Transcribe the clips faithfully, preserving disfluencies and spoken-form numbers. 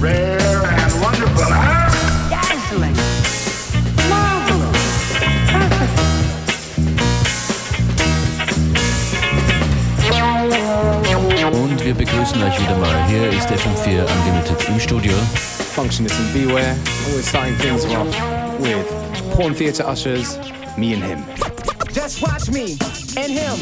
Rare and wonderful, huh? Dazzling. Marvelous. Perfect. Und wir begrüßen euch wieder mal. Hier ist F M vier Unlimited im Studio. Functionist and Beware, always starting things off with Porn Theatre Ushers, Me and Him. Just watch me and him.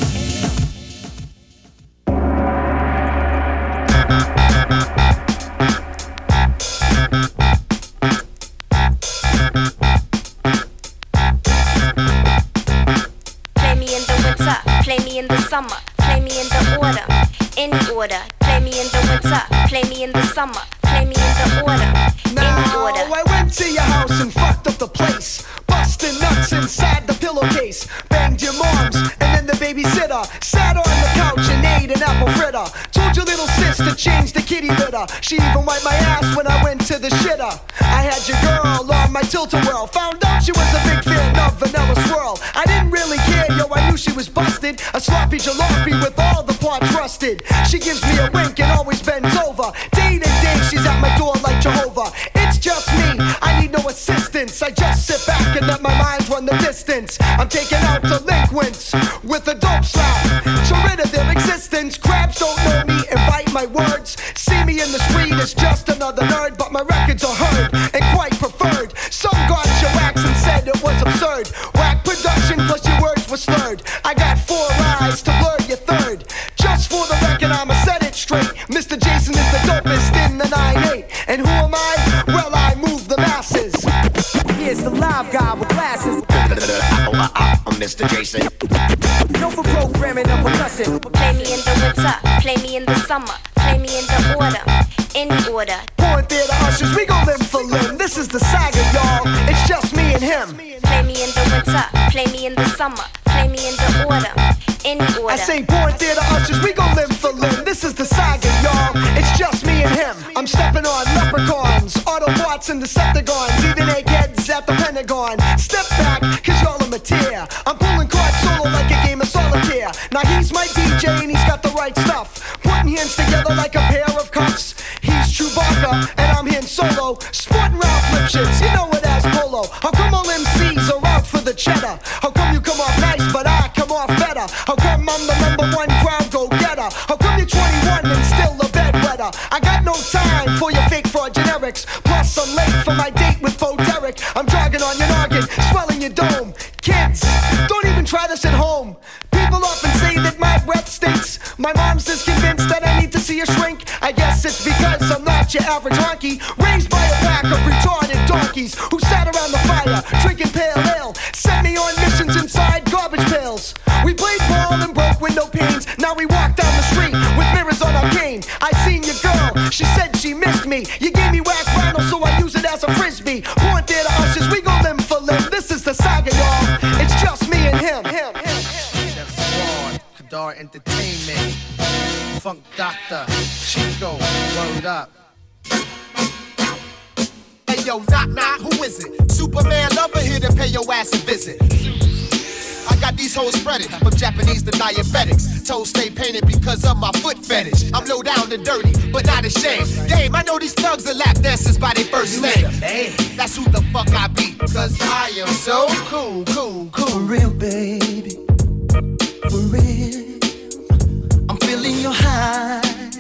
Play me in the winter, play me in the summer, play me in the order, any order. Play me in the winter, play me in the summer, play me in the order, any order. Now I went to your house and fucked up the place, busting nuts inside the pillowcase, banged your moms and then the babysitter, sat on the couch and ate an apple fritter. Told your little sis to change the kitty litter. She even wiped my ass when I went to the shitter. I had your girl on my tilt-a-whirl, found out she was a big fan of Vanilla Swirl. I didn't really care, yo, I knew she was busted, a sloppy jalopy with all the parts rusted. She gives me a wink and always bends over. Day to day she's at my door like Jehovah. It's just me, I need no assistance. I just sit back and let my mind run the distance. I'm taking out delinquents with a dope slap to rid of their existence. Crabs don't know me and bite my words. See me in the street as just another nerd, but my records are heard and quite preferred. Some got your wax and said it was absurd. Whack production plus your words were slurred. I got four eyes to blur your third. Just for the record I'ma set it straight. Mister Jason is the dopest in the nine eight. And who am I? Well, I move the masses. Here's the live guy with glasses. I'm Mister Jason. No for programming and percussion. Play me in the winter, play me in the summer, play me in the order, any order. Porn Theatre Ushers, we gon' limb for limb. This is the saga, y'all. It's just me and him. Play me in the winter, play me in the summer, play me in the order, any order. I say Porn Theatre Ushers, we gon' limb for limb. This is the saga, y'all. It's just me and him. I'm stepping on leprechauns, Autobots and Decepticons, even eggheads at the Pentagon. Step back, cause y'all are materia. I'm pulling cards solo like a game of solitaire. Now he's my D J and he's got the right stuff, putting hands together like a pair of cups. He's Chewbacca and I'm Han Solo, sporting Ralph Lipschitz, you know it as Polo. How come all M Cs are out for the cheddar? How come you come off nice but I come off better? How come I'm the number one crowd go-getter? How come you're twenty-one and still a bedwetter? I got no time for your fake fraud generics. Plus I'm late for my date with Bo Derek. I'm jogging on your noggin, swelling your dome. Kids, don't even try this at home. People often say that my breath stinks. My mom's is convinced that I need to see a shrink. I guess it's because I'm not your average honky, raised by a pack of retarded donkeys who sat around the fire drinking pale ale, sent me on missions inside garbage pails. We played ball and broke window panes. Now we walk down the street with mirrors on our cane. I seen your girl, she said she missed me. You gave me whack vinyl so I use it as a frisbee. Porn Theatre Ushers, we gon' limb for limb. This is the saga, y'all. It's just me and him. him, him, him. Squad, Kadar Entertainment, Funk Doctor, Chico, word up. Hey yo, knock knock, who is it? Superman lover here to pay your ass a visit. I got these hoes spreaded, from Japanese to diabetics. Toes stay painted because of my foot fetish. I'm low down and dirty, but not ashamed. Game, I know these thugs are lap dancers by their first name. That's who the fuck I be, cause I am so cool, cool, cool. For real, baby, for real. I'm feeling your high.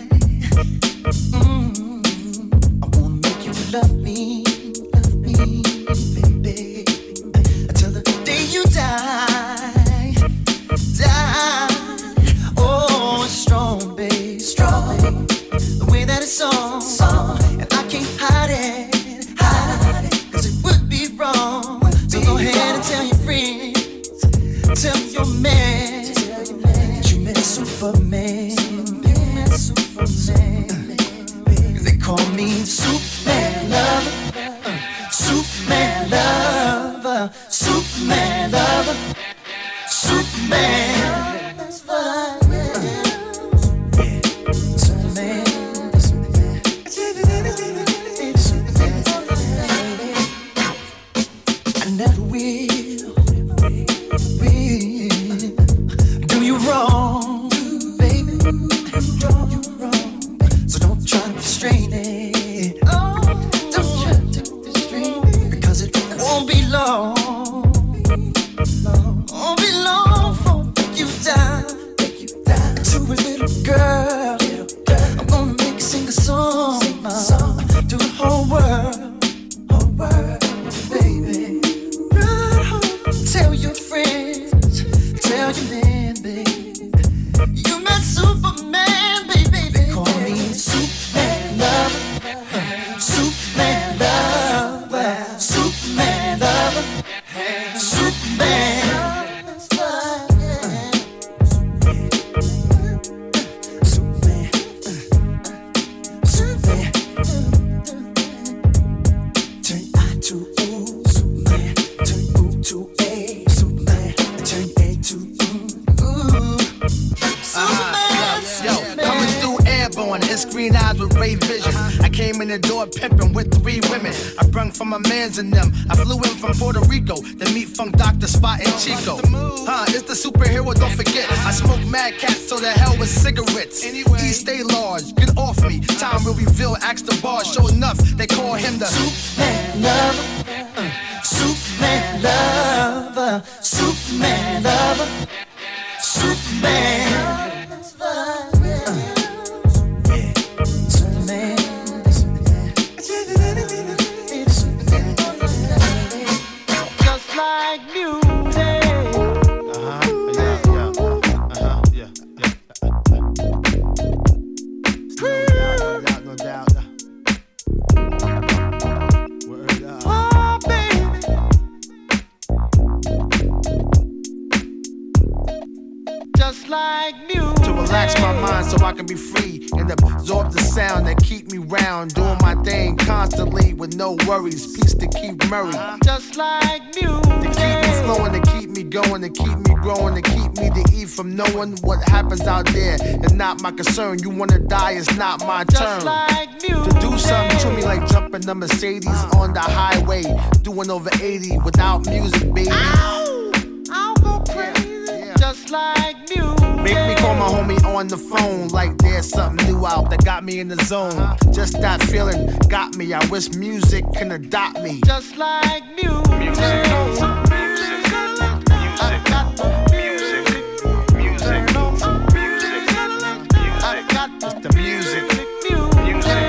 Mm-hmm. I wanna make you love me, love me, baby. Until the day you die, die. Oh, it's strong, babe, strong. The way that it's on, and I can't hide it, hide it, cause it would be wrong. So go ahead and tell your friends, tell your man, that you met Superman, you met Superman. Cause they call me the Superman lover, uh, Superman lover, Superman lover, Superman. That's fine. Never will, will do you wrong, baby. Do you wrong, so don't try to restrain it. Oh. came in the door pimping with three women. I brung from my mans in them. I flew in from Puerto Rico to meet Funk Doctor Spot and Chico. Huh, it's the superhero, don't forget. I smoke mad cats, so the hell with cigarettes. E stay large, get off me. Time will reveal, ask the bar, show enough. They call him the Superman lover, uh, Superman lover, Superman lover, Superman. So I can be free and absorb the sound that keep me round, doing my thing constantly with no worries. Peace to Keith Murray, just like music. To keep me flowing, to keep me going, to keep me growing, to keep me to eat from knowing what happens out there. It's not my concern. You wanna die, it's not my turn. Like to do something to me like jumping the Mercedes on the highway, doing over eighty without music, baby. Ow! I'll go crazy, yeah, yeah. Just like music. Make me call my homie on the phone like there's something new out that got me in the zone. Just that feeling got me. I wish music can adopt me. Just like music. Music. Music. I got the music. Music. Music. I got the music. Music.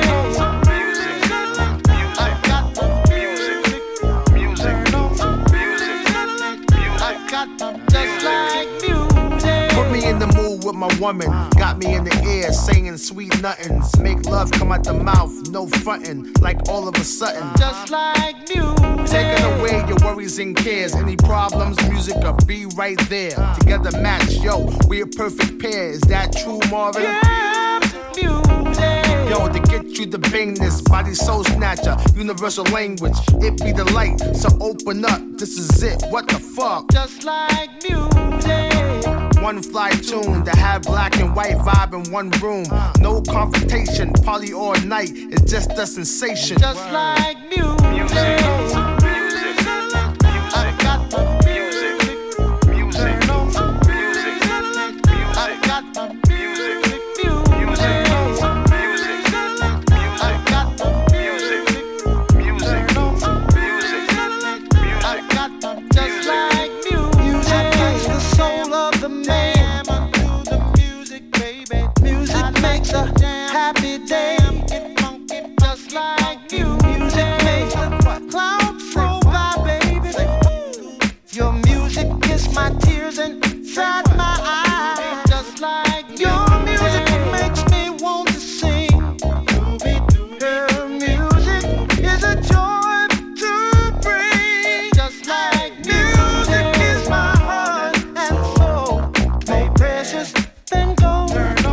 I got the music. Music. Music. I got just like music. Put me in the mood with my woman, got me in the air, saying sweet nothings. Make love come out the mouth, no frontin', like all of a sudden. Just like music. Taking away your worries and cares. Any problems, music will be right there. Together match, yo, we a perfect pair. Is that true, Marvin? Yeah, music. Yo, to get you the bangness, body soul snatcher, universal language. It be the light, so open up. This is it. What the fuck? Just like music. One fly tune to have black and white vibe in one room. No confrontation, party all night. It's just a sensation. Just like music. Music. Music. I got the music. Music. Music. I got the music. Music. Music. I got the music. Music. Music. I got the just like music. Music is the soul of the man. Do the music, baby. Music makes a happy day. Get funky, just like you. Music makes the clouds roll by, baby. Your music is my tears inside my eyes. Just like your music makes me want to sing. Her music is a joy to bring. Just like music is my heart and soul. More precious than gold.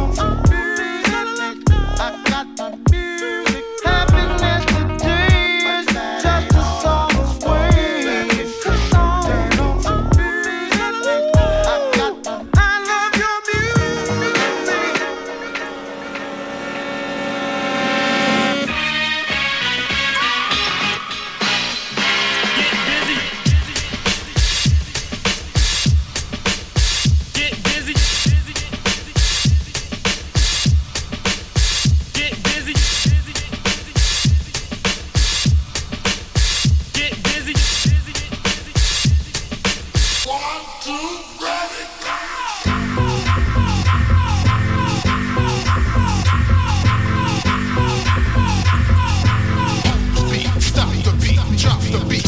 I got the music. Happiness today is just a song away. A song. I got the. I love your music. Get busy. Get busy. Get busy. One, two, ready, Beat, stop the beat, drop the beat.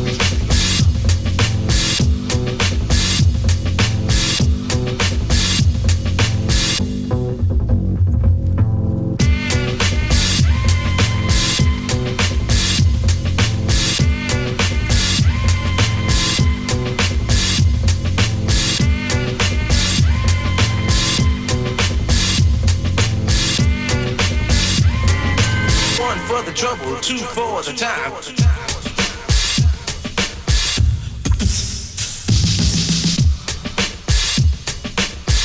One for the trouble, two for the time.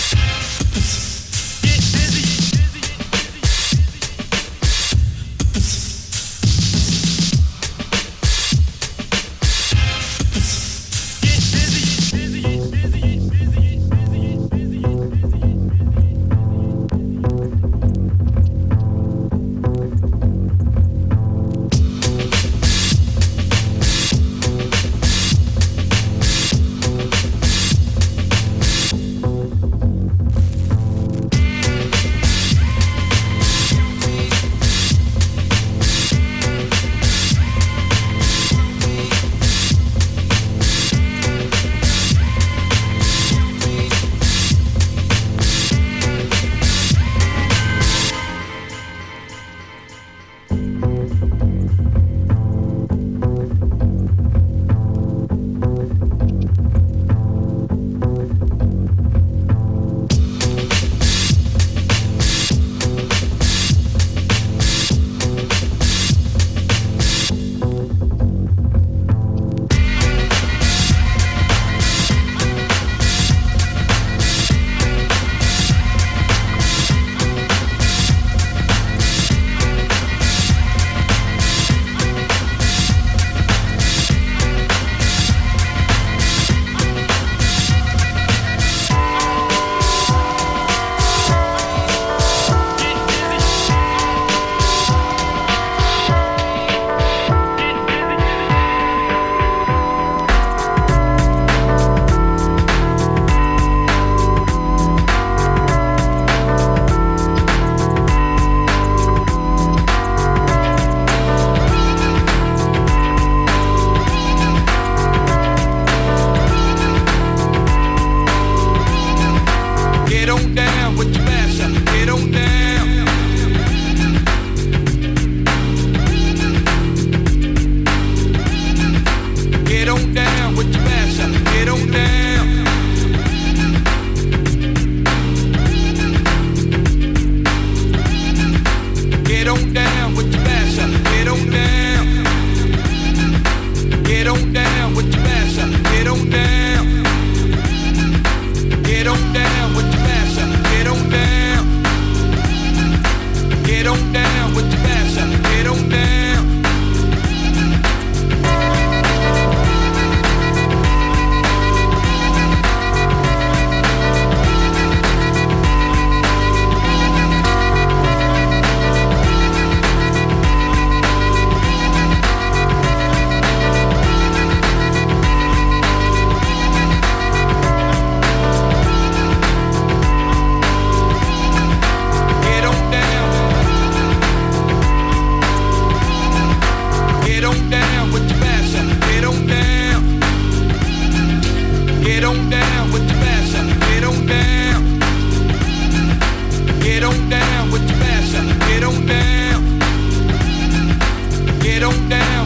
Get busy.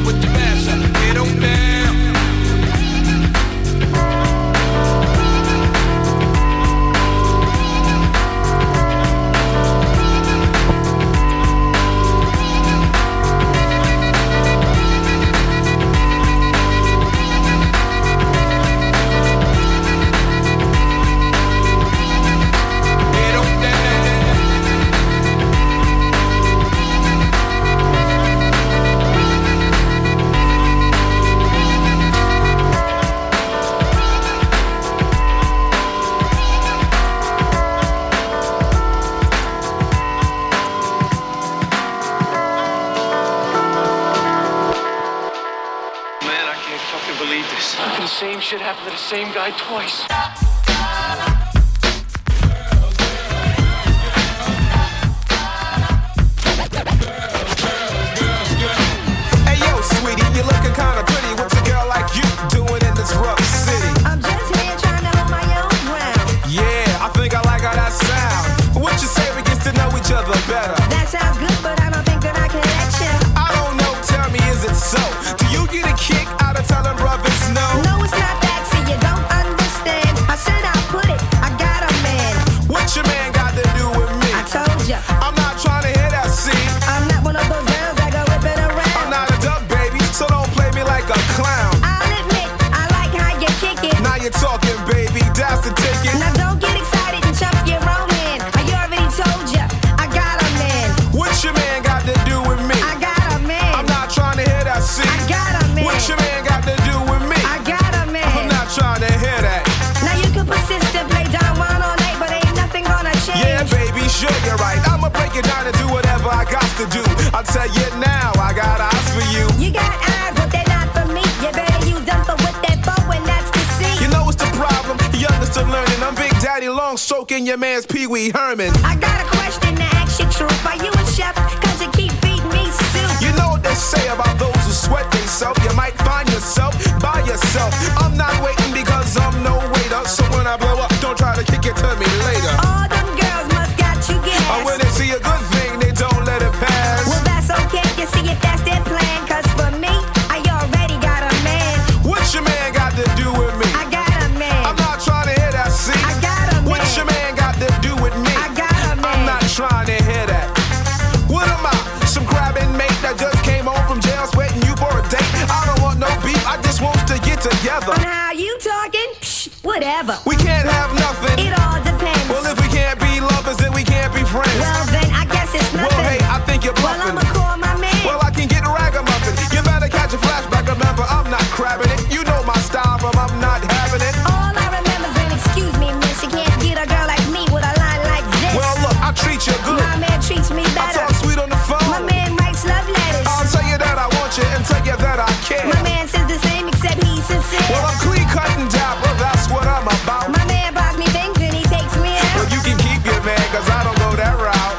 with the masher. Get on down. Same shit happened to the same guy twice. Hey yo, sweetie, you're looking kinda pretty. What's a girl like you doing in this rough city? I'm just here trying to hold my own ground. Yeah, I think I like how that sound. What you say we get to know each other better? That sounds good, but I don't think that I can let you. I don't know, tell me, is it so? Do you get a kick out of telling brothers no? No, it's not that, see, you don't understand. I said I'll put it, I got a man. What your man got to do with me? I told ya. I'm not trying to hear that, see? I'm not one of those girls that go whip it around. I'm not a duck, baby, so don't play me like a clown. I'll admit, I like how you kick it. Now you're talking, baby, that's the ticket. Now don't get excited and jump your own man. I already told ya, I got a man. What your man got to do with me? I got a man. I'm not trying to hear that, see? I got a man. What your man got to do with me? I got a man. I'm not trying to hear that. Now you can persist and play Don Juan all night, but ain't nothing gonna change. Yeah, baby, sure you're right. I'ma break it down and do whatever I got to do. I'll tell you now, I got eyes for you. You got eyes, but they're not for me. You better use them for what they're for, and that's to see. You know what's the problem? Young and still learning. I'm Big Daddy Long stroking your man's Pee Wee Herman. I got a question to ask you, truth. Are you a chef? Cause you keep feeding me soup. You know what they say about those who sweat themselves. You might find yourself by yourself. I'm not waiting because I'm no waiter. So when I blow up, don't try to kick it to me later. All them girls must got you gas. Or when they see a good thing, they don't let it pass. Well, that's okay. You see if that's their plan. Cause for me, I already got a man. What your man got to do with me? I got a man. I'm not trying to hear that, see? I got a man. What your man got to do with me? I got a man. I'm not trying to hear that. What am I? Some crabbing mate that just came home from jail sweating you for a date? I don't want no beef, I just want to get together. On how you talking? Psh, whatever. We can't have nothing. It all depends. Well, if we can't be lovers, then we can't be friends. Well, then I guess it's nothing. Well, hey, I think you're Well, bluffing. I'ma call my man. Well, I can get ragamuffin. You better catch a flashback, remember, I'm not crabbing it. You know my style, but I'm not having it. All I remember is, and excuse me, miss, you can't get a girl like me with a line like this. Well, look, I treat you good. My man treats me I better. talk sweet on the phone. My man writes love letters. I'll tell you that I want you and tell you that I care. My man says the same except he's sincere. Well, I'm clean cut and dapper, that's what I'm about. My man buys me things and he takes me out. Well, you can keep your man, cause I don't go that route.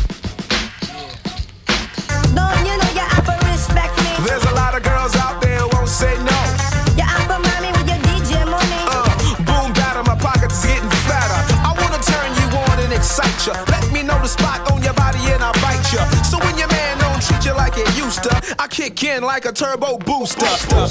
Lord, you know you're out for respect me. There's a lot of girls out there who won't say no. You're out for mommy with your D J money. Uh, boom, batter, my pockets getting fatter. I wanna turn you on and excite you. Let me know the spot on your body and I'll bite you. So when your man don't treat you like it used to, I kick in like a turbo booster.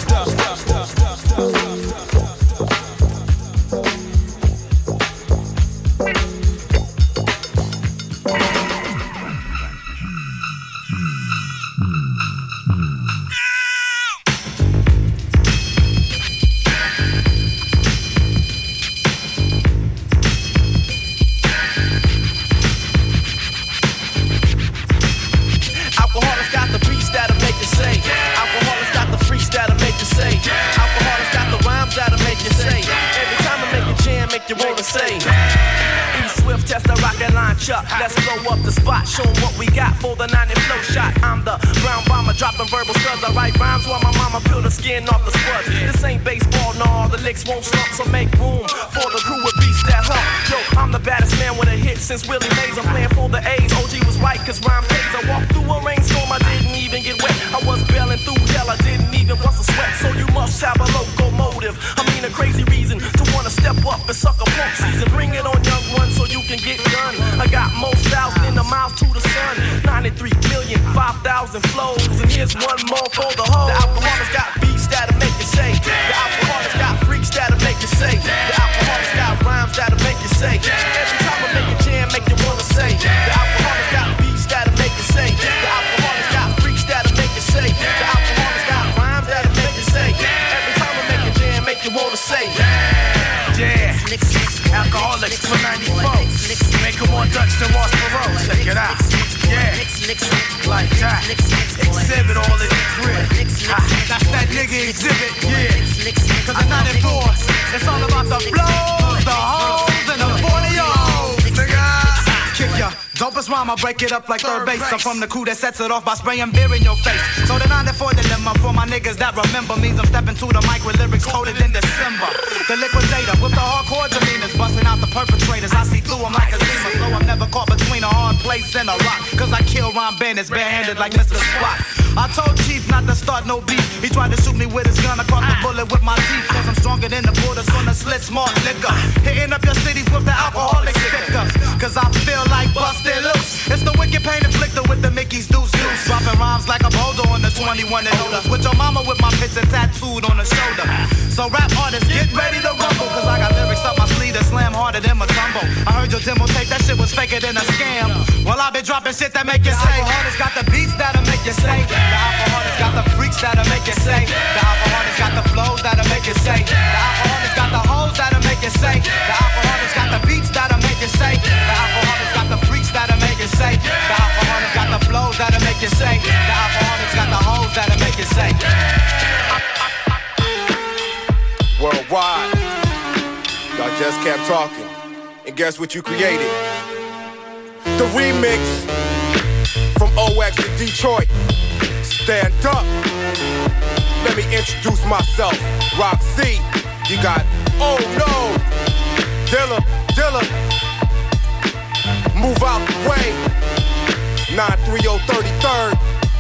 Alcoholics got the beats that'll make you say. Alcoholics got the freaks that'll make you say. Alcoholics got the rhymes that'll make you say. Every time I make a jam, make you wanna say. E Swift test the rocket line chuck. Let's blow up the spot, show 'em what we got for the ninety flow shot. I'm the brown bomber dropping verbal studs. I write rhymes while my mama peel the skin off the spuds. This ain't baseball, no, the licks won't slump, so make room for the crew with beats that hump. Yo, I'm the baddest man with a hit since Willie Mays. I'm playing for the A's. O G was right, cause rhyme pays. I walked through a rainstorm, I didn't even get wet. I was bailing through hell, I didn't even bust a sweat. So you must have a locomotive. I mean a crazy reason to wanna step up and suck a punk season. Bring it on, young one, so you can get done. I got most styles in the mouth to the sun. ninety-three million, five thousand thousand flows, and here's one more for the whole. The alcoholics got beats that'll make you say. The alcoholics got freaks that'll make you say. The alcoholics got rhymes that'll make you say. Every time I make a jam, make you wanna say. The alcoholics got beats that'll make you say. The alcoholics got freaks that'll make you say. The alcoholics got rhymes that'll make you say. Every time I make a jam, make you wanna say. Yeah, alcoholics for ninety-four. Make them more Dutch than Ross Perot. Check it out. Yeah, like that. Exhibit all in the crib. That's that nigga exhibit. Yeah, cause I'm not enforced. It's all about the blows, the hoes, and the forty-ohs. Nigga, kick ya. Dopest rhyme, I break it up like third base. I'm from the crew that sets it off by spraying beer in your face. So the ninety-four dilemma for my niggas that remember means I'm stepping to the mic with lyrics coded in December. The liquidator with the hardcore demeanors, busting out the perpetrators. I see through them like a zima, so I'm never caught between a hard place and a rock. Cause I kill rhyme bandits barehanded like Mister Spot. I told Chief not to start no beef. He tried to shoot me with his gun. I caught the bullet with my teeth. Cause I'm stronger than the borders on the slit smart liquor. Hitting up your cities with the alcoholic stickers. Cause I feel like busted loose. It's the wicked pain inflictor with the Mickey's deuce deuce. Dropping rhymes like a boulder on the twenty-one and older. With your mama with my picture tattooed on the shoulder. So rap artists, get ready to rumble. Cause I got lyrics up my sleeve that slam harder than my tumble. I heard your demo tape, that shit was faker than a scam. Well, I been dropping shit that make you say. The alcoholics got the beats that'll make you say. The alcoholics got the freaks that'll make you say. The alcoholics got the flows that'll make you say. The alcoholics got the hoes that'll make you say. The alcoholics got the beats that'll make you say. The alcoholics got the freaks that'll make you say. The alcoholics got the flows that'll make you say. The alcoholics got the hoes that'll make you say. Worldwide, y'all just kept talking, and guess what you created? The remix from O X in Detroit. Stand up. Let me introduce myself. Rock C. You got Oh No. Dilla, Dilla. Move out the way. nine three oh thirty-third.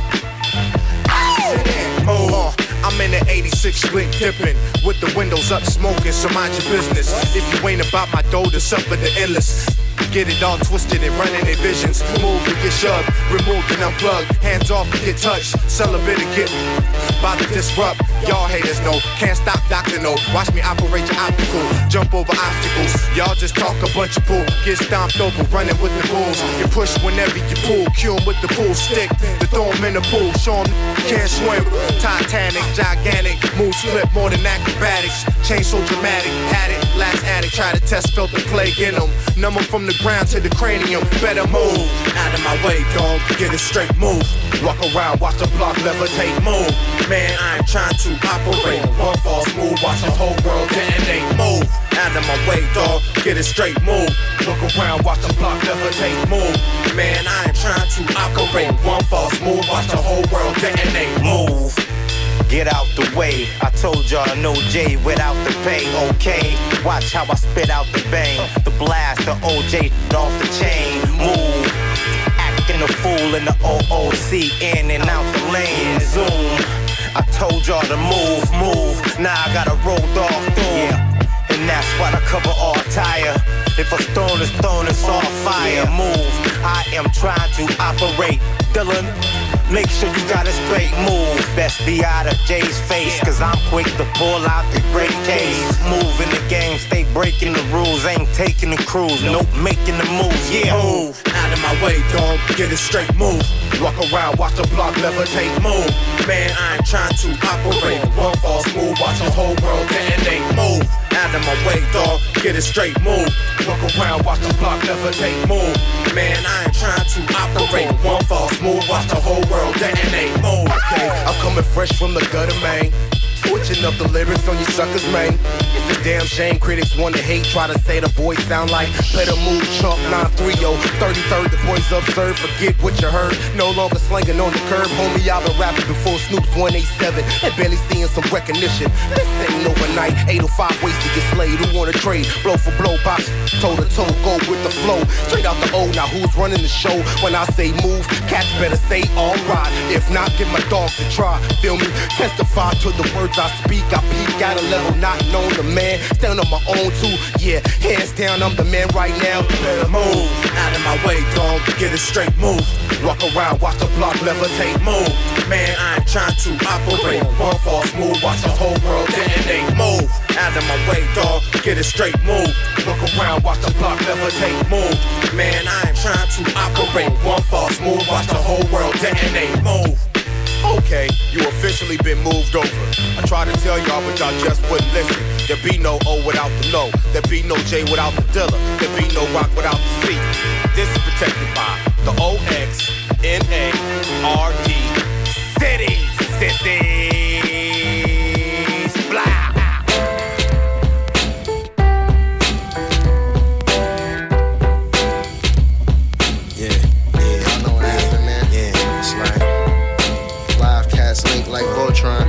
Oh, I'm in the eighty-six split dipping with the windows up smoking, so mind your business. If you ain't about my dough, to suffer the endless. Get it all twisted and running their visions. Move and get shoved, removed and unplugged. Hands off and get touched, celibate and get about to disrupt. Y'all haters know, can't stop Doctor No. Watch me operate your optical, jump over obstacles. Y'all just talk a bunch of bull, get stomped over, running with the bulls. You push whenever you pull, cue 'em with the pool stick. The throw 'em in the pool, show 'em can't swim. Titanic, gigantic, moves flip more than acrobatics. Change so dramatic, had it, last addict. Try to test, felt the plague in them. Numb 'em from the ground to the cranium, better move. Out of my way, dog, get it straight, move. Walk around, watch the block levitate, move. Man, I ain't trying to operate. One false move, watch the whole world detonate, move. Out of my way, dog, get it straight, move. Look around, watch the block levitate, move. Man, I ain't trying to operate. One false move, watch the whole world detonate, move. Get out the way, I told y'all no J without the pay, okay? Watch how I spit out the bang, the blast, the O J off the chain, move. Acting a fool in the O O C, in and out the lane, zoom. I told y'all to move, move, now I gotta roll dog through. Yeah. And that's why I cover all tire. If a stone is thrown, it's all fire, move. I am trying to operate, Dylan. Make sure you got it straight, move. Best be out of Jay's face, cause I'm quick to pull out the great case. Move in the game, stay breaking the rules. Ain't taking the cruise, nope, making the moves, yeah. Move, out of my way, dog, get it straight, move. Walk around, watch the block levitate, move. Man, I ain't trying to operate. One false move, watch the whole world detonate, move. Out of my way, dog, get it straight, move. Walk around, watch the block levitate, move. Man, I ain't trying to operate. One false move, watch the whole world detonate, move. Okay, I'm coming fresh from the gutter, man. Switching up the lyrics on you suckers, man. It's a damn shame critics wanna hate, try to say the boys sound like better move chump nine three oh thirty-third. The boys absurd, forget what you heard. No longer slanging on the curb, homie. I've been rapping before Snoop's one eighty-seven and barely seeing some recognition. This ain't overnight. eight oh five ways to get slayed. Who wanna trade? Blow for blow, box toe to toe, go with the flow. Straight out the O. Now who's running the show? When I say move, cats better say alright. If not, get my dogs to try. Feel me? Testify to the words as I speak, I peak at a level not known to man. Stand on my own too, yeah, hands down, I'm the man right now. Better move, out of my way, dog, get it straight, move. Walk around, watch the block levitate, move. Man, I ain't trying to operate. One false move, watch the whole world detonate, move. Out of my way, dog, get it straight, move. Look around, watch the block levitate, move. Man, I ain't trying to operate. One false move, watch the whole world detonate, move. Okay, you officially been moved over. I tried to tell y'all, but y'all just wouldn't listen. There be no O without the no. There be no J without the Dilla. There be no rock without the C. This is protected by the O X N A R D. City, sissies, blah. Link like Voltron.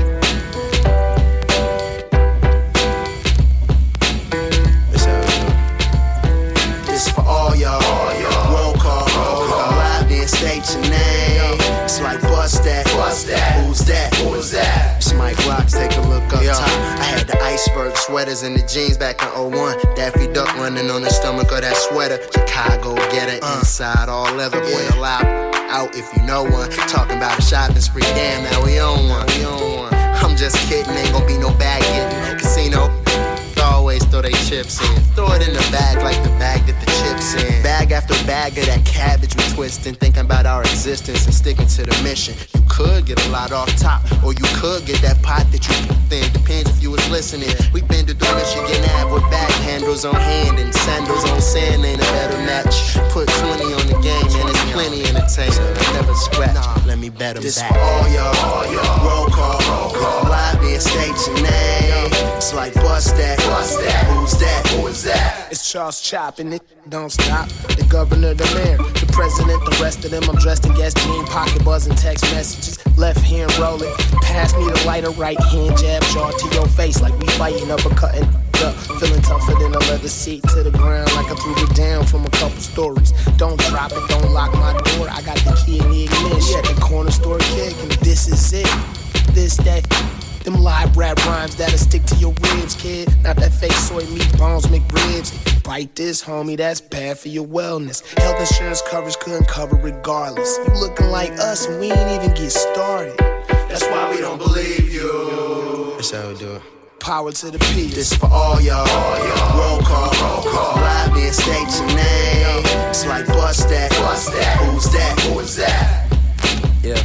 This for all y'all. Roll call. Live then state your name. It's like bust that. Bust that. Who's that? Who's that? It's Mike Rocks. Take a look up top. I had the iceberg sweaters and the jeans back in oh one. Daffy Duck running on the stomach of that sweater. Chicago get it. Inside all leather. Boy alive. Out if you know one. Talking about a shopping spree. Damn, now we on one. We on one. I'm just kidding. Ain't gonna be no bag getting. Casino. Always throw they chips in. Throw it in the bag like the bag that the chips in. Bag after bag of that cabbage we twisting. Thinking about our existence and sticking to the mission. You could get a lot off top, or you could get that pot that you thin. Depends if you was listening. We been to do Michigan Ave with back handles on hand and sandals on sand. Ain't a better match. Put twenty on the game and it's plenty entertainment. Never scratch. Let me bet them this back. This for all y'all. Roll call. Roll call. Live then state your name. It's like bust that. Bust that. Who's that? Who is that? It's Charles Chopping it. Don't stop. The governor, the mayor, the president, the rest of them. I'm dressed in gas jean, pocket buzzing, text messages. Left hand rolling. Pass me the lighter, right hand jab, jaw to your face like we fighting, uppercutting. Up, feeling tougher than a leather seat to the ground like I threw it down from a couple stories. Don't drop it, don't lock my door. I got the key in the ignition. At the corner store kick, and this is it. This, that. Them live rap rhymes that'll stick to your ribs, kid. Not that fake soy meat bones, McRibs. If you bite this, homie, that's bad for your wellness. Health insurance coverage couldn't cover regardless. You looking like us and we ain't even get started. That's why we don't believe you. That's how we do it. Power to the peace. This for all y'all. Roll call. Roll call. Live then state your name. It's like bust that. Bust that. Who's that? Who is that? Yeah.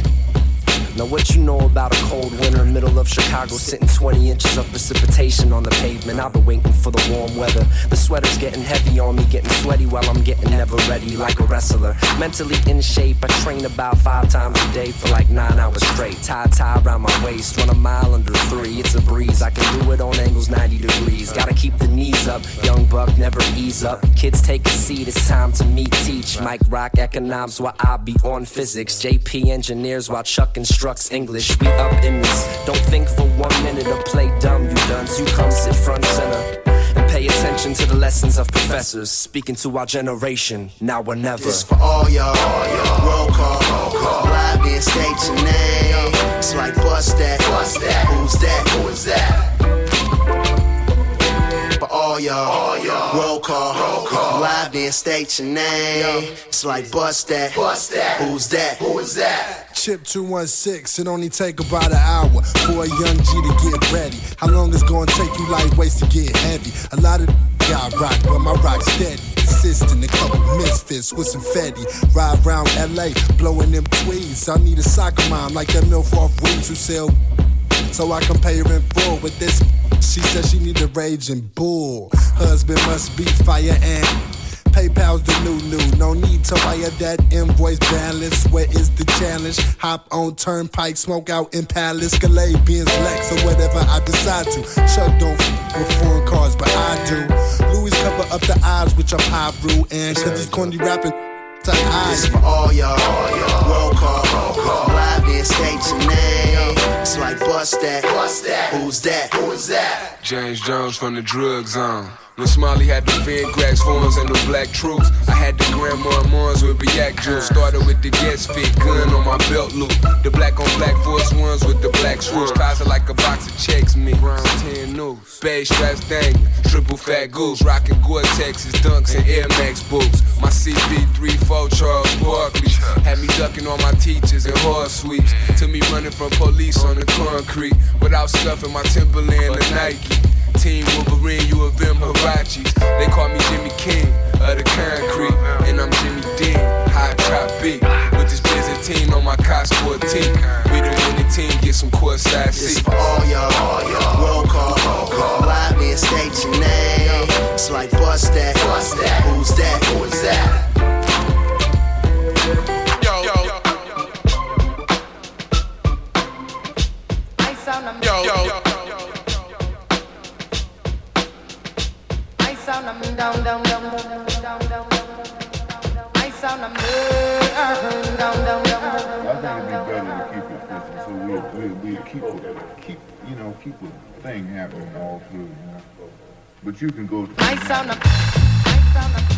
Now what you know about a cold winter, middle of Chicago, sitting twenty inches of precipitation on the pavement. I've been waiting for the warm weather. The sweater's getting heavy on me, getting sweaty while I'm getting never ready like a wrestler. Mentally in shape, I train about five times a day for like nine hours straight. Tie tie around my waist, run a mile under three. It's a breeze, I can do it on angles ninety degrees. Gotta keep the knees up, young buck never ease up. Kids take a seat, it's time to meet teach. Mike Rock economics while I be on physics. J P engineers while Chuck instructs English. We up in this. Don't think for one minute or play dumb, you dunce. You come sit front center and pay attention to the lessons of professors speaking to our generation, now or never. This for all y'all. Roll call. Roll call. Live then state your name. It's like bust that. Bust that. Who's that? Who is that? For all y'all. All y'all. Roll call. Roll call. Live then state your name. It's like bust that. Bust that. Who's that? Who is that? Chip two one six, it only take about an hour for a young G to get ready. How long it's gonna take you lightweights to get heavy? A lot of got rock, but my rock's steady. Consistent, a couple misfits with some fetty. Ride around L A, blowing them tweeds. I need a soccer mom like that milf off weeds who sell, so I can pay her in full with this. She said she need a raging bull. Husband must be fire and PayPal's the new new. No need to wire that invoice balance. Where is the challenge? Hop on Turnpike, smoke out in Palace, Calais, Benz, Lex, or whatever I decide to. Chuck don't f with foreign cars, but I do. Louis cover up the odds, which I'm high brew, and cause he's corny rapping to hide. This for all y'all. Roll call. Roll call. Live then state your name. It's like bust that. Bust that. Who's that? Who is that? James Jones from the drug zone. When Smiley had the Van Grax forms and the black troops, I had the Grandma Mons with React Juice. Started with the Guess Fit gun on my belt loop. The black on black Force Ones with the black swoosh, closet like a box of checks, me. ten news, beige straps dangling, triple fat goose, rockin' Gore-Tex's dunks and Air Max boots. My C B three four Charles Barkley had me ducking all my teachers and horse sweeps. To me running from police on the concrete without scuffing my Timberland or Nike. Team Wolverine, U of M Hirachis. They call me Jimmy King of the concrete, and I'm Jimmy Dean, high trap beat. With this Byzantine on my Cos fourteen, we the winning team, get some courtside seats. It's for all y'all, roll call, ride me and state your name. It's like bust that, bust that, who's that, who's that? Yo, yo, yo, yo, yo. Down, down, down, down, down, down. I sound a down, down, down, down. I think it'd be better to keep it Christmas, so we'll, we'll, we'll keep it, keep, you know, keep the thing happening all through, you know. But you can go to... I sound a, I sound a.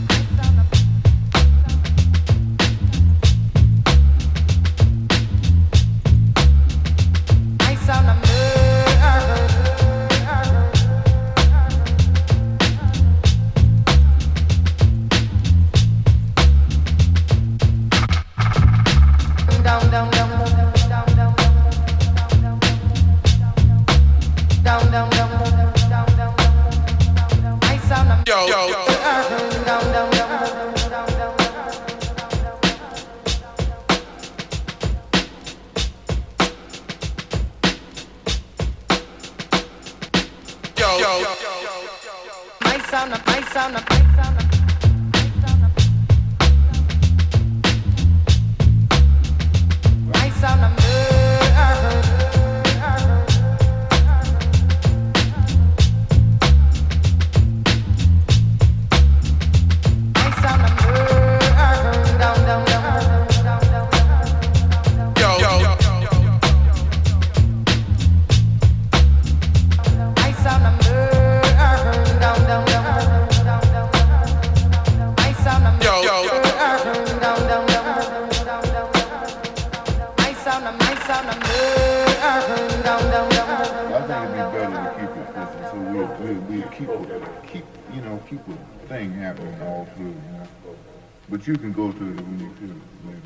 But you can go to it when you feel it.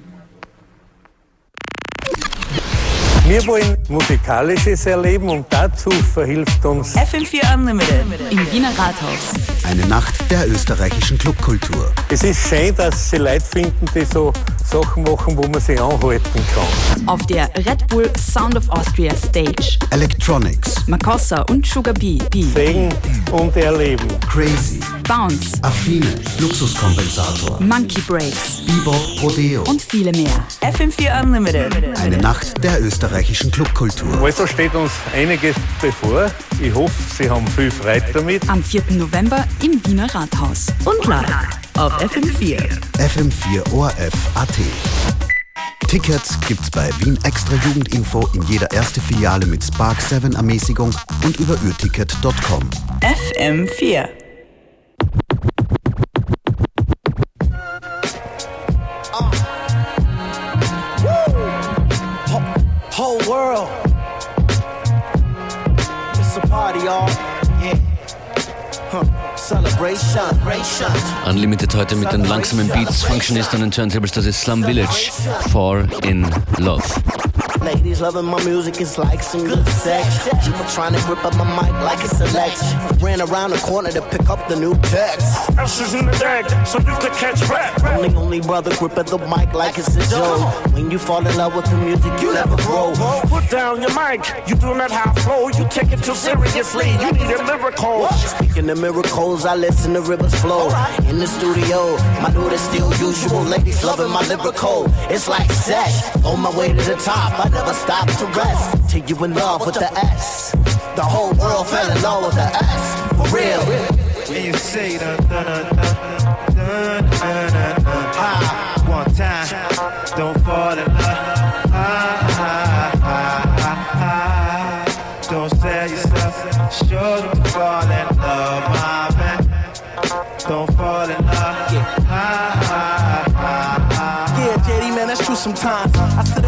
Wir wollen Musikalisches erleben und dazu verhilft uns F M vier Unlimited im Wiener Rathaus. Eine Nacht der österreichischen Clubkultur. Es ist schön, dass sie Leute finden, die so Sachen machen, wo man sich anhalten kann. Auf der Red Bull Sound of Austria Stage. Electronics. Makossa und Sugar Bee. Sehen und erleben. Crazy. Bounce. Affine. Luxuskompensator. Monkey Breaks. Bebop. Rodeo. Und viele mehr. F M vier Unlimited. Eine Nacht der österreichischen Clubkultur. Also steht uns einiges bevor. Ich hoffe, Sie haben viel Freude damit. Am vierten November im Wiener Rathaus. Und live auf F M vier. F M vier O R F Punkt A T. Tickets gibt's bei Wien Extra Jugendinfo in jeder erste Filiale mit Spark sieben Ermäßigung und über Urticket Punkt com. F M vier. Uh. Whole world. It's a party, y'all. Yeah. Huh. Celebration. Unlimited heute mit den langsamen Beats, Functionist und den Turntables, das ist Slum Village, Fall in Love. Ladies loving my music, it's like some good sex. People trying to grip up my mic like it's a Lex. Ran around the corner to pick up the new text. Ashes in the deck, so you could catch rap. Only, only brother grip at the mic like it's a joke. When you fall in love with the music, you never grow. Put down your mic, you do not have flow. You take it too seriously, you need a miracle. Speaking of miracles, I listen to rivers flow. In the studio, my dude is still usual. Ladies loving my lyrical, it's like sex. On my way to the top, I never stop to rest. Till you in love with the S. The whole world fell in love with the S. For real. And you say dun dun dun dun dun dun dun dun. Ah, one time, don't fall in love. Ah, ah, ah, ah, ah. Don't sell yourself, sure you fall in love, my man. Don't fall in love. Yeah. Ah, ah, ah, ah. Yeah, J D, man, that's true sometimes. I sit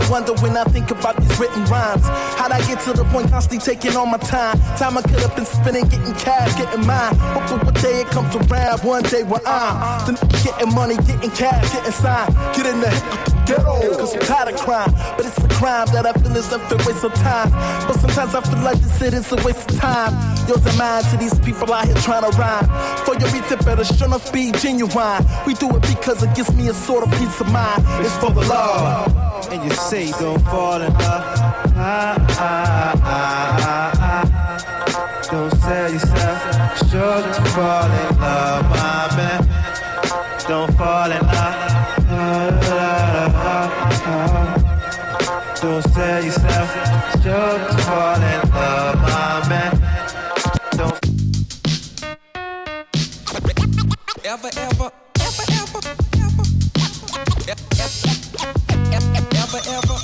wonder when I think about these written rhymes. How'd I get to the point constantly taking all my time? Time I could have been spending getting cash, getting mine. Hoping one day it comes around, one day when I'm the getting money, getting cash, getting signed. Get in the ghetto, cause I'm tired of crime. But it's a crime that I feel is a waste of time. But sometimes I feel like this shit is a waste of time. Yours and mine to these people out here trying to rhyme. For your beats, it better sure enough be genuine. We do it because it gives me a sort of peace of mind. It's for the love. And you say don't fall in love. Ah, ah, ah, ah, ah. Don't sell yourself short to fall in love, my man. Don't fall in love. Ah, ah, ah. Don't sell yourself short to fall in love, my man. Don't ever, ever, ever, ever, ever, ever, ever, ever, ever,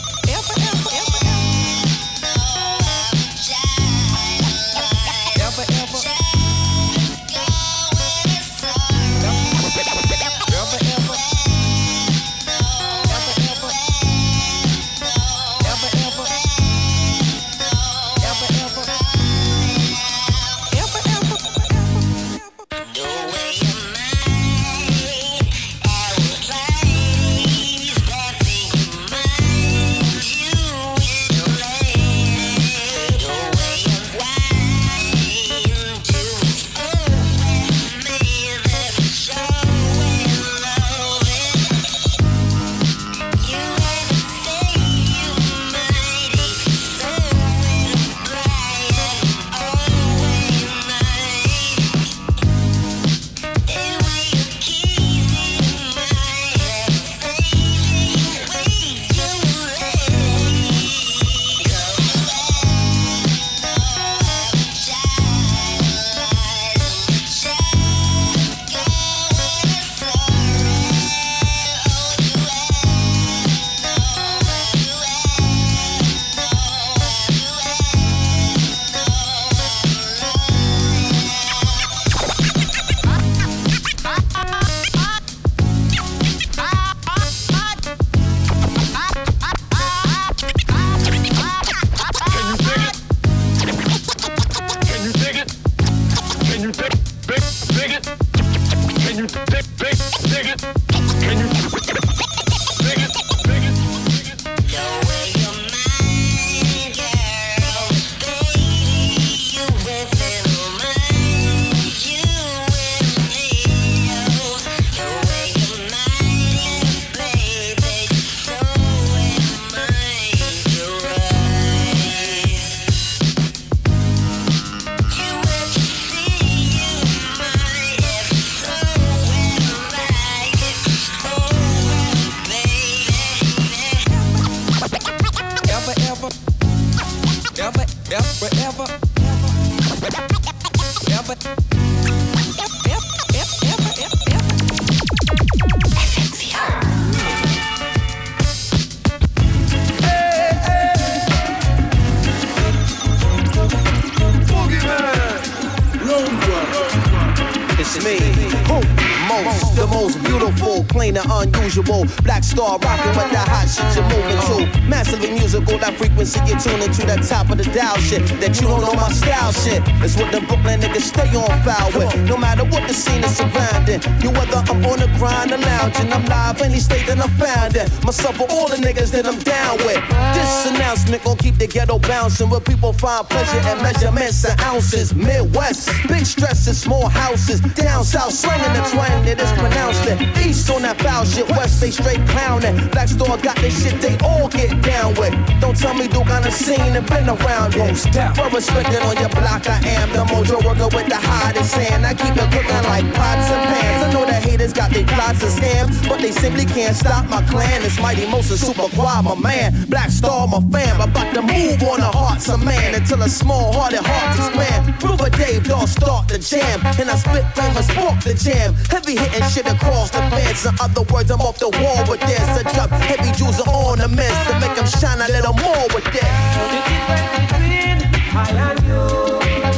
unusual. Black Star rocking with that hot shit you're moving to. Massively musical, that frequency you're tuning to. That top of the dial shit, that you don't know my style shit. It's what the Brooklyn niggas stay on foul with. No matter what the scene is surrounding. You whether I'm on the grind or lounging, I'm live any state that I'm found in. Myself or all the niggas that I'm down with. This announcement gon' keep the ghetto bouncing, where people find pleasure and measurements and ounces. Midwest, big stresses, small houses. Down south, slanging the twang that is pronounced it. East on that foul shit, west they straight clowning. Black Star got this shit they all get down with. Don't tell me Duke on the scene and been around it. For respecting on your block, I am the mojo worker with the hottest hand. I keep it cooking like pots and pans. I know that haters got their plots and scams, but they simply can't stop my clan. It's Mighty Mosa, Super Quad, my man. Black Star, my fam. About to move on the hearts of man until a small-hearted hearts expand. River Dave, dog, start the jam, and I spit famous, spark the jam. Heavy hitting shit across the fence. In other words, I'm off the wall with this. I drop heavy jewels on the mist to make them shine a little more with this. The difference between I and you.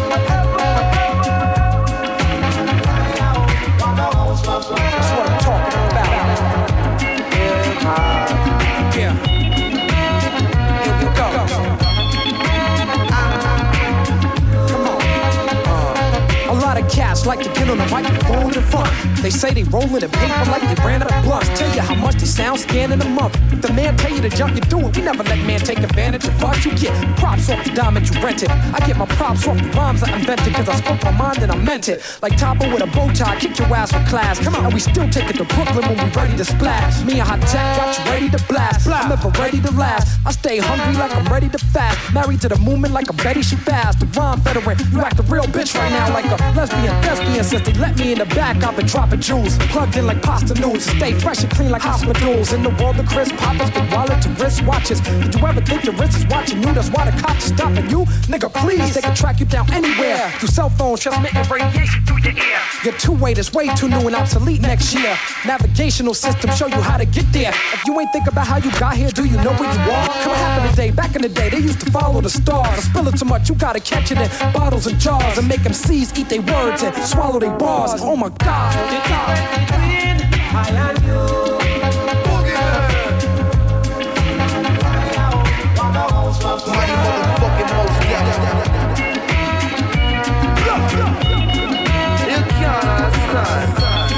That's what I'm talking about. Yeah. holding a microphone in front. They say they rolling in paper like they ran out of blunts. Tell you how much they sound scan in a month. If the man tell you to jump, you do it. We never let man take advantage of us. You get props off the diamond you rented. I get my props off the rhymes I invented, cause I spoke my mind and I meant it. Like Topper with a bow tie, kick your ass with class. Come on, and we still take it to Brooklyn when we ready to splash. Me and Hot Tech got you ready to blast. I'm never ready to last. I stay hungry like I'm ready to fast. Married to the movement like I'm Betty Shabazz. The rhyme veteran, you act a real bitch right now like a lesbian, thespian. Since they let me in the back, I've been dropping jewels. Plugged in like pasta noodles. Stay fresh and clean like hospitals. In the world of Chris Poppers, with wallet to wrist watches. Did you ever think your wrist is watching you? That's why the cops are stopping you. Nigga, please, they can track you down anywhere. Through cell phones, transmitting radiation through your ear. Your two-way is way too new and obsolete next year. Navigational system show you how to get there. If you ain't think about how you got here, do you know where you are? What happened today? Back in the day, they used to follow the stars. I spill it too much, you gotta catch it in bottles and jars and make M Cs eat their words and swallow their bars. Oh my God. Mighty motherfucking most dead. You can't understand.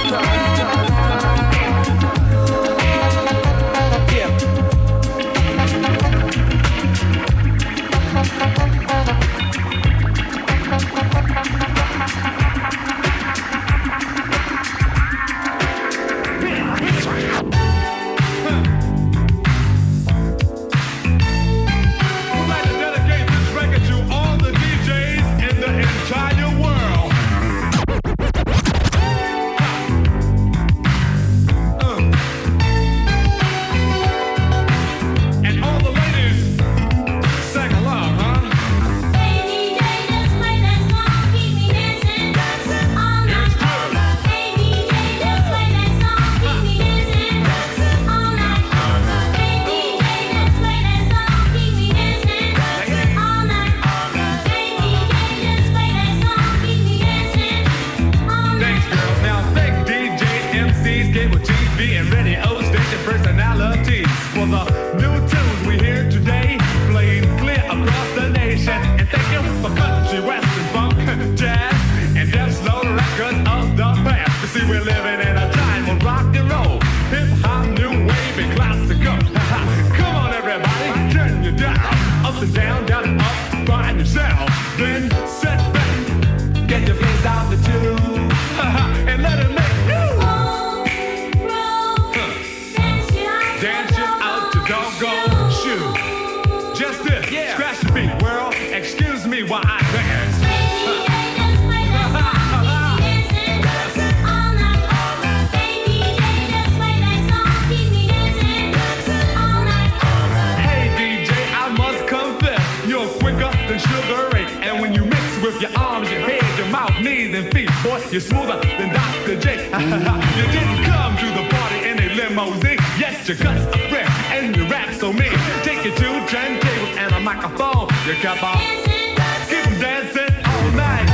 You're smoother than Doctor J. You didn't come to the party in a limousine. Yes, your guts are fresh and your rap so mean. Take you to turntables and a microphone. You kept on keep them dancing all night.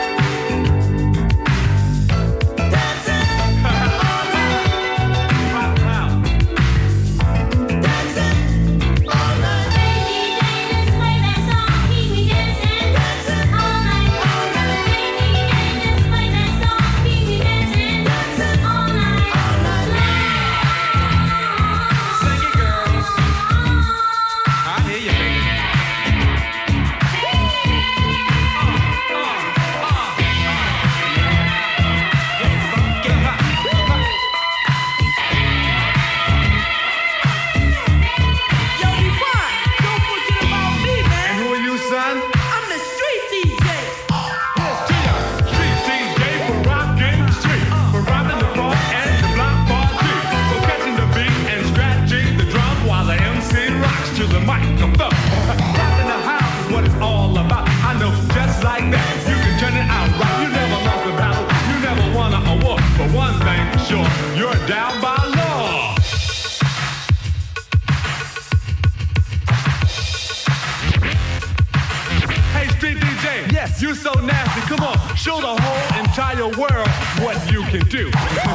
You so nasty, come on, show the whole entire world what you can do.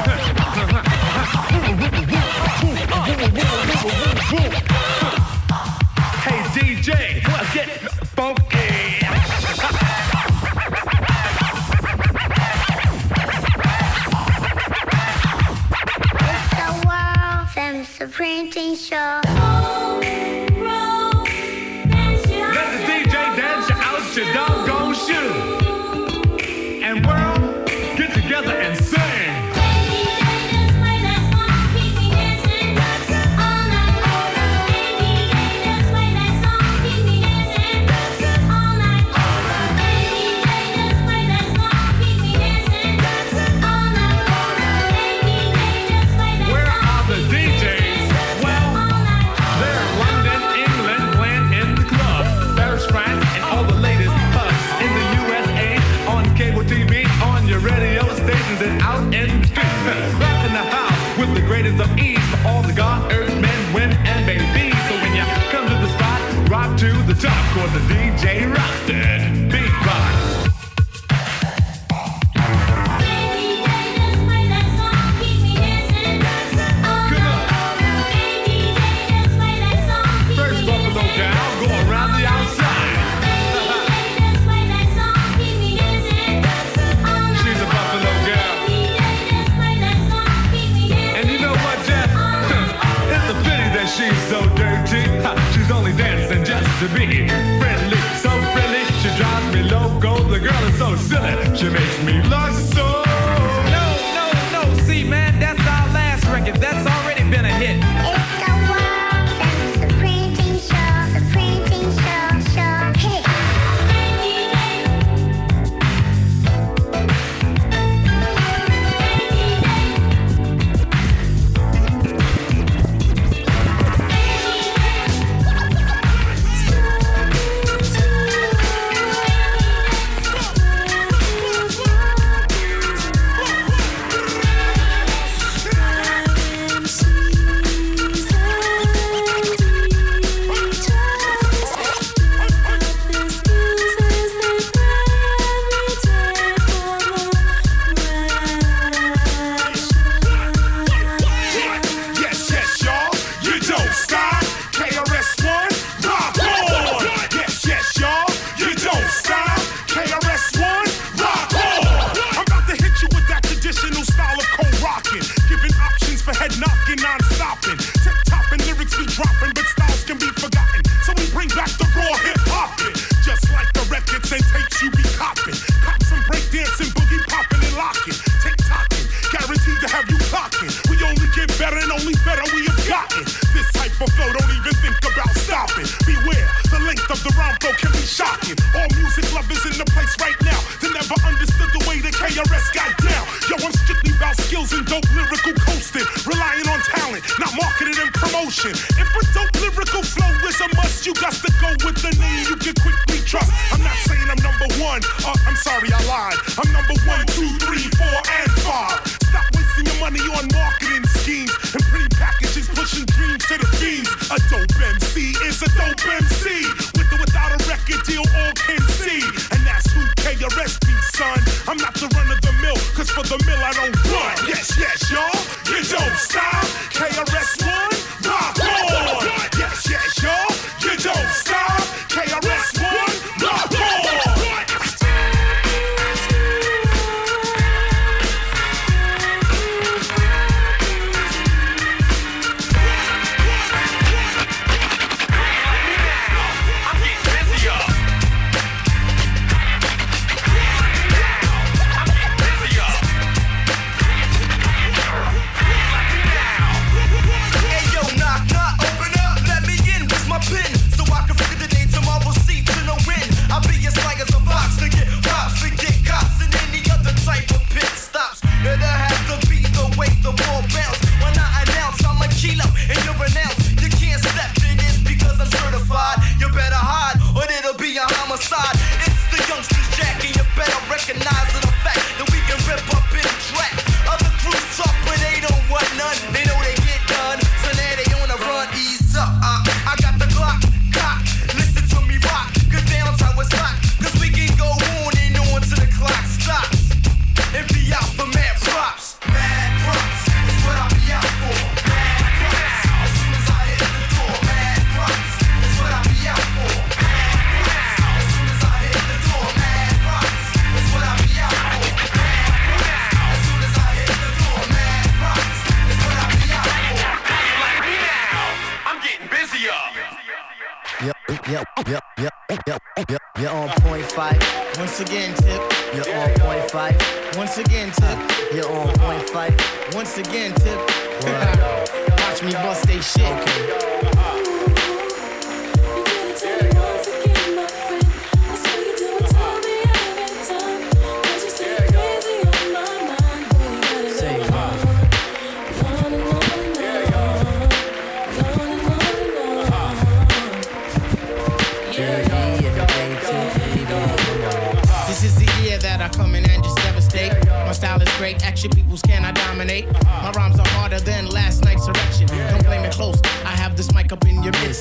Hey D J, get funky. was the D J Rusted Beatbox. She's so dirty, she's only dancing just to be friendly, so friendly, she drives me loco. The girl is so silly, she makes me lust so. No, no, no, see man, that's our last record, that's already been a hit. It's the world famous, the printing show, the printing show, show, hey.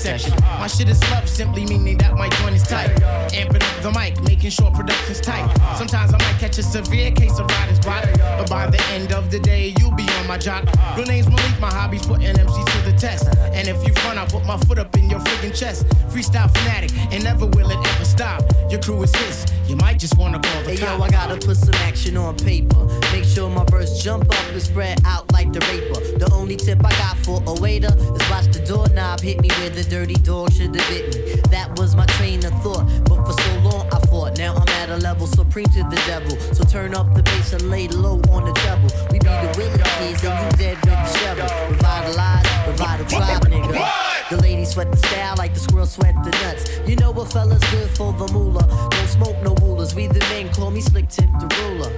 section. My shit is love, simply meaning that my joint is tight. Amping up the mic, making sure production's tight. Sometimes I might catch a severe case of writer's block, but by the end of the day, you'll be on my jock. Real names will leak my hobbies, putting M Cs to the test. And if you fun, I'll put my foot up in your friggin' chest. Freestyle fanatic, and never will it ever stop. Your crew is his, you might just wanna call the hey, cop. yo, I gotta put some action on paper. Make sure my verse jump up and spread out like the raper. The only tip I got for a waiter is watch the doorknob hit me where the dirty dog should have bit me. That was my train of thought, but for so long I fought. Now I'm at a level supreme to the devil. So turn up the bass and lay low on the treble. We be the Willie kids and you dead with the shovel. Revitalize, revital tribe, nigga. The ladies sweat the style like the squirrel sweat the nuts. You know what fella's good for the moolah. Don't smoke no rulers. We the men, call me Slick Tip the ruler.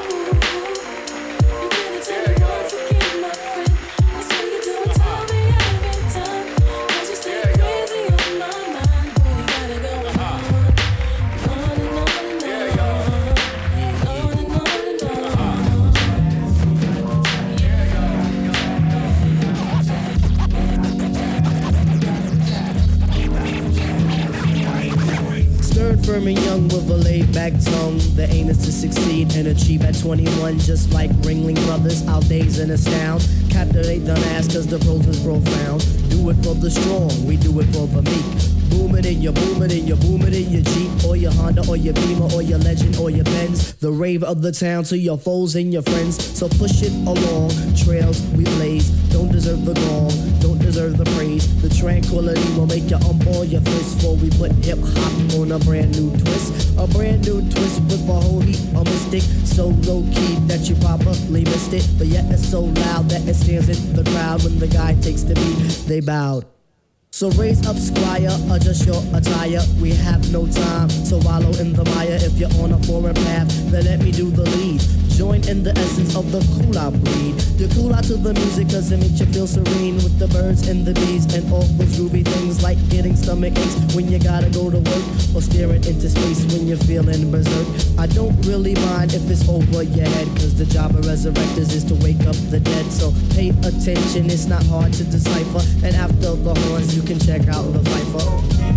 Firm and young with a laid-back tongue. The aim is to succeed and achieve at twenty-one. Just like Ringling Brothers, I'll daze and astound. Captivate the mass cause the prose is profound. Do it for the strong, we do it for the meek. Boom it in your, boom it in your, boom it in your Jeep, or your Honda, or your Beamer, or your Legend, or your Benz. The rave of the town to your foes and your friends. So push it along, trails we blaze. Don't deserve the gong, don't deserve the praise. The tranquility will make you ump all your fists. Before we put hip hop on a brand new twist. A brand new twist with a whole heap of mystic. So low key that you probably missed it, but yet it's so loud that it stands in the crowd. When the guy takes the beat, they bowed. So raise up, squire, adjust your attire. We have no time to wallow in the mire. If you're on a foreign path, then let me do the lead. Join in the essence of the cool out breed. The cool out to the music cause it makes you feel serene. With the birds and the bees and all those groovy things. Like getting stomach aches when you gotta go to work, or staring into space when you're feeling berserk. I don't really mind if it's over your head, cause the job of resurrectors is to wake up the dead. So pay attention, it's not hard to decipher. And after the horns you can check out the Viper.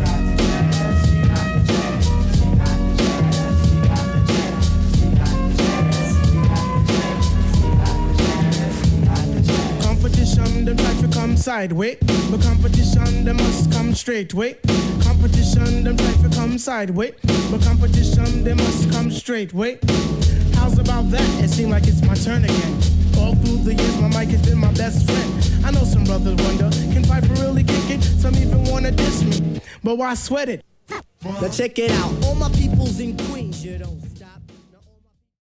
Them try to come sideways, but competition they must come straight way. Competition them try to come sideways, but competition they must come straight way. How's about that? It seems like it's my turn again. All through the years my mic has been my best friend. I know some brothers wonder, can Piper really kick it? Some even wanna diss me, but why sweat it? Now check it out, all my peoples in Queens, you don't